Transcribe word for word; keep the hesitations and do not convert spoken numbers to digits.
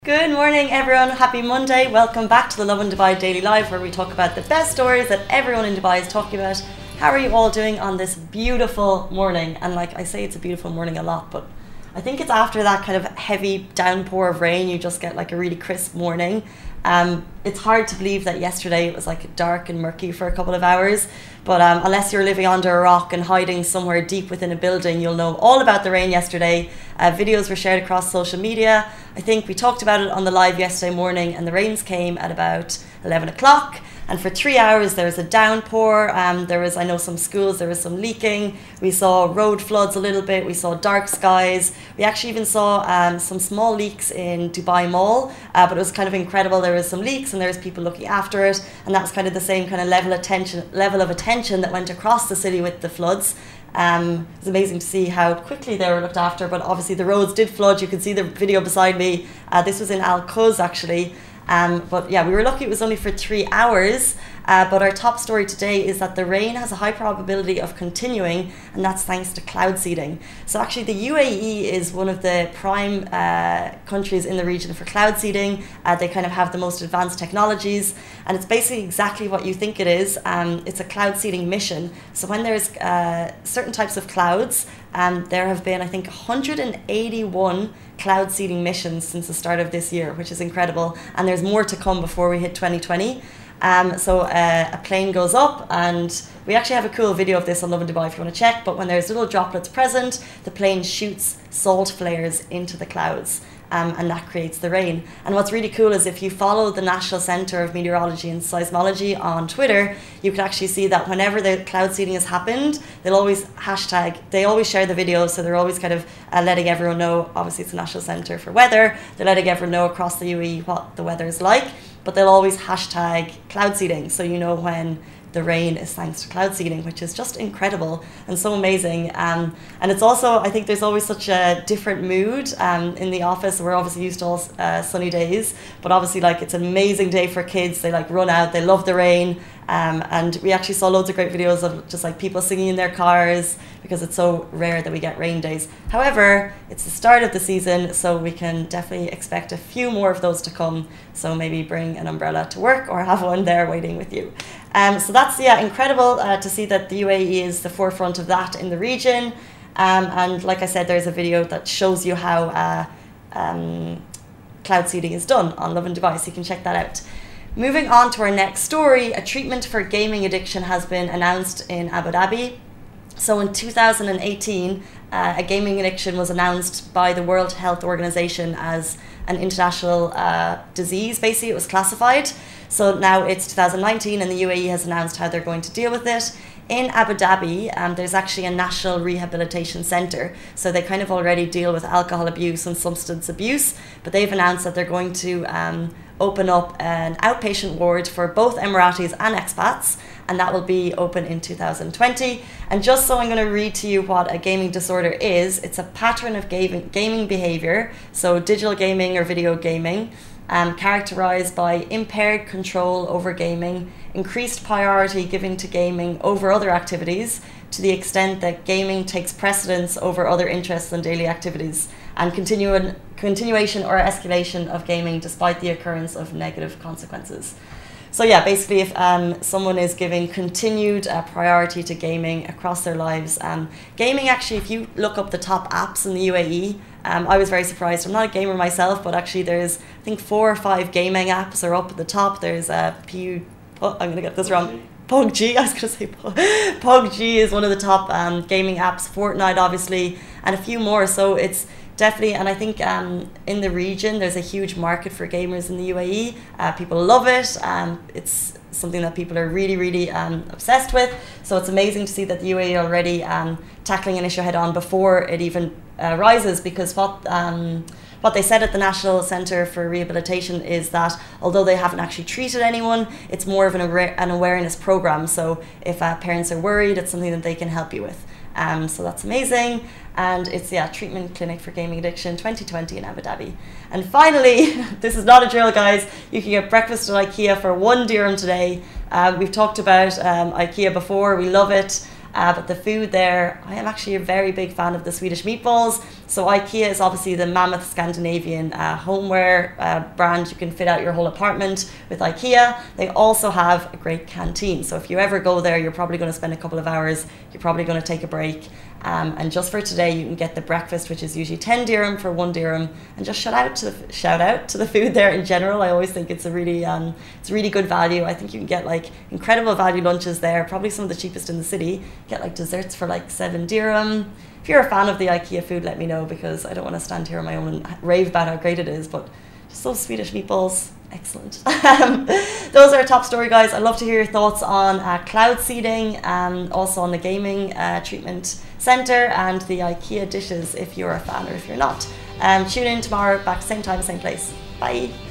Good morning everyone, happy Monday. Welcome back to the Lovin Dubai Daily Live, where we talk about the best stories that everyone in Dubai is talking about. How are you all doing on this beautiful morning? And like I say, it's a beautiful morning a lot, but I think it's after that kind of heavy downpour of rain, you just get like a really crisp morning. Um, it's hard to believe that yesterday it was like dark and murky for a couple of hours, but um, unless you're living under a rock and hiding somewhere deep within a building, you'll know all about the rain yesterday. Uh, videos were shared across social media. I think we talked about it on the live yesterday morning, and the rains came at about eleven o'clock. And for three hours there was a downpour. Um, there was, I know some schools, there was some leaking. We saw road floods a little bit. We saw dark skies. We actually even saw um, some small leaks in Dubai Mall, uh, but it was kind of incredible. There was some leaks and there was people looking after it. And that was kind of the same kind of level of attention, level of attention that went across the city with the floods. Um, it was amazing to see how quickly they were looked after, but obviously the roads did flood. You can see the video beside me. Uh, this was in Al Quoz actually. Um, but yeah, we were lucky it was only for three hours. Uh, but our top story today is that the rain has a high probability of continuing, and that's thanks to cloud seeding. So actually the U A E is one of the prime uh, countries in the region for cloud seeding. Uh, they kind of have the most advanced technologies, and it's basically exactly what you think it is. Um, it's a cloud seeding mission. So when there's uh, certain types of clouds, um, there have been, I think, one hundred eighty-one cloud seeding missions since the start of this year, which is incredible. And there's more to come before we hit twenty twenty. Um, so uh, a plane goes up, and we actually have a cool video of this on Lovin Dubai if you want to check, but when there's little droplets present, the plane shoots salt flares into the clouds, um, and that creates the rain. And what's really cool is if you follow the National Centre of Meteorology and Seismology on Twitter, you can actually see that whenever the cloud seeding has happened, they'll always hashtag, they always share the video, so they're always kind of uh, letting everyone know. Obviously it's the National Centre for Weather, they're letting everyone know across the U A E what the weather is like, but they'll always hashtag cloud seeding, so you know when the rain is thanks to cloud seeding, which is just incredible and so amazing. Um, and it's also, I think there's always such a different mood um, in the office. We're obviously used to all uh, sunny days, but obviously like it's an amazing day for kids. They like run out, they love the rain. Um, and we actually saw loads of great videos of just like people singing in their cars, because it's so rare that we get rain days. However, it's the start of the season, so we can definitely expect a few more of those to come. So maybe bring an umbrella to work or have one there waiting with you. Um, so that's, yeah, incredible uh, to see that the U A E is the forefront of that in the region. Um, and like I said, there's a video that shows you how uh, um, cloud seeding is done on Lovin Dubai, so you can check that out. Moving on to our next story, a treatment for gaming addiction has been announced in Abu Dhabi. So in two thousand eighteen, uh, a gaming addiction was announced by the World Health Organization as an international uh, disease. Basically, it was classified. So now it's two thousand nineteen, and the U A E has announced how they're going to deal with it. In Abu Dhabi, um, there's actually a national rehabilitation centre. So they kind of already deal with alcohol abuse and substance abuse, but they've announced that they're going to um, open up an outpatient ward for both Emiratis and expats, and that will be open in two thousand twenty. And just so I'm going to read to you what a gaming disorder is, it's a pattern of gaming, gaming behaviour, so digital gaming or video gaming, um, characterised by impaired control over gaming, increased priority given to gaming over other activities, to the extent that gaming takes precedence over other interests and daily activities, and continu continuation or escalation of gaming despite the occurrence of negative consequences. So yeah, basically if um, someone is giving continued uh, priority to gaming across their lives, um, gaming actually, if you look up the top apps in the U A E, um, I was very surprised. I'm not a gamer myself, but actually there's, I think four or five gaming apps are up at the top. There's uh, P, oh, I'm going to get this wrong. P U B G, I was going to say P U B G is one of the top um, gaming apps, Fortnite obviously, and a few more. So it's definitely, and I think um, in the region there's a huge market for gamers in the U A E. Uh, people love it. Um, it's something that people are really, really um, obsessed with. So it's amazing to see that the U A E already um, tackling an issue head on before it even uh, rises, because what um, what they said at the National Centre for Rehabilitation is that although they haven't actually treated anyone, it's more of an, an awareness program. So if uh, parents are worried, it's something that they can help you with. Um, so that's amazing. And it's, yeah, treatment clinic for gaming addiction twenty twenty in Abu Dhabi. And finally, this is not a drill, guys. You can get breakfast at IKEA for one dirham today. Uh, we've talked about um, IKEA before. We love it. Uh, but the food there, I am actually a very big fan of the Swedish meatballs. So IKEA is obviously the mammoth Scandinavian uh, homeware uh, brand. You can fit out your whole apartment with IKEA. They also have a great canteen. So if you ever go there, you're probably going to spend a couple of hours. You're probably going to take a break. Um, and just for today, you can get the breakfast, which is usually ten dirham for one dirham. And just shout out to the shout out to the food there in general. I always think it's a really um, it's a really good value. I think you can get like incredible value lunches there. Probably some of the cheapest in the city. Get like desserts for like seven dirham. If you're a fan of the IKEA food, let me know, because I don't want to stand here on my own and rave about how great it is. But just those Swedish meatballs, excellent. Um, those are our top story, guys. I'd love to hear your thoughts on uh, cloud seeding, and also on the gaming uh, treatment centre and the IKEA dishes if you're a fan or if you're not. Um, tune in tomorrow, back same time, same place. Bye.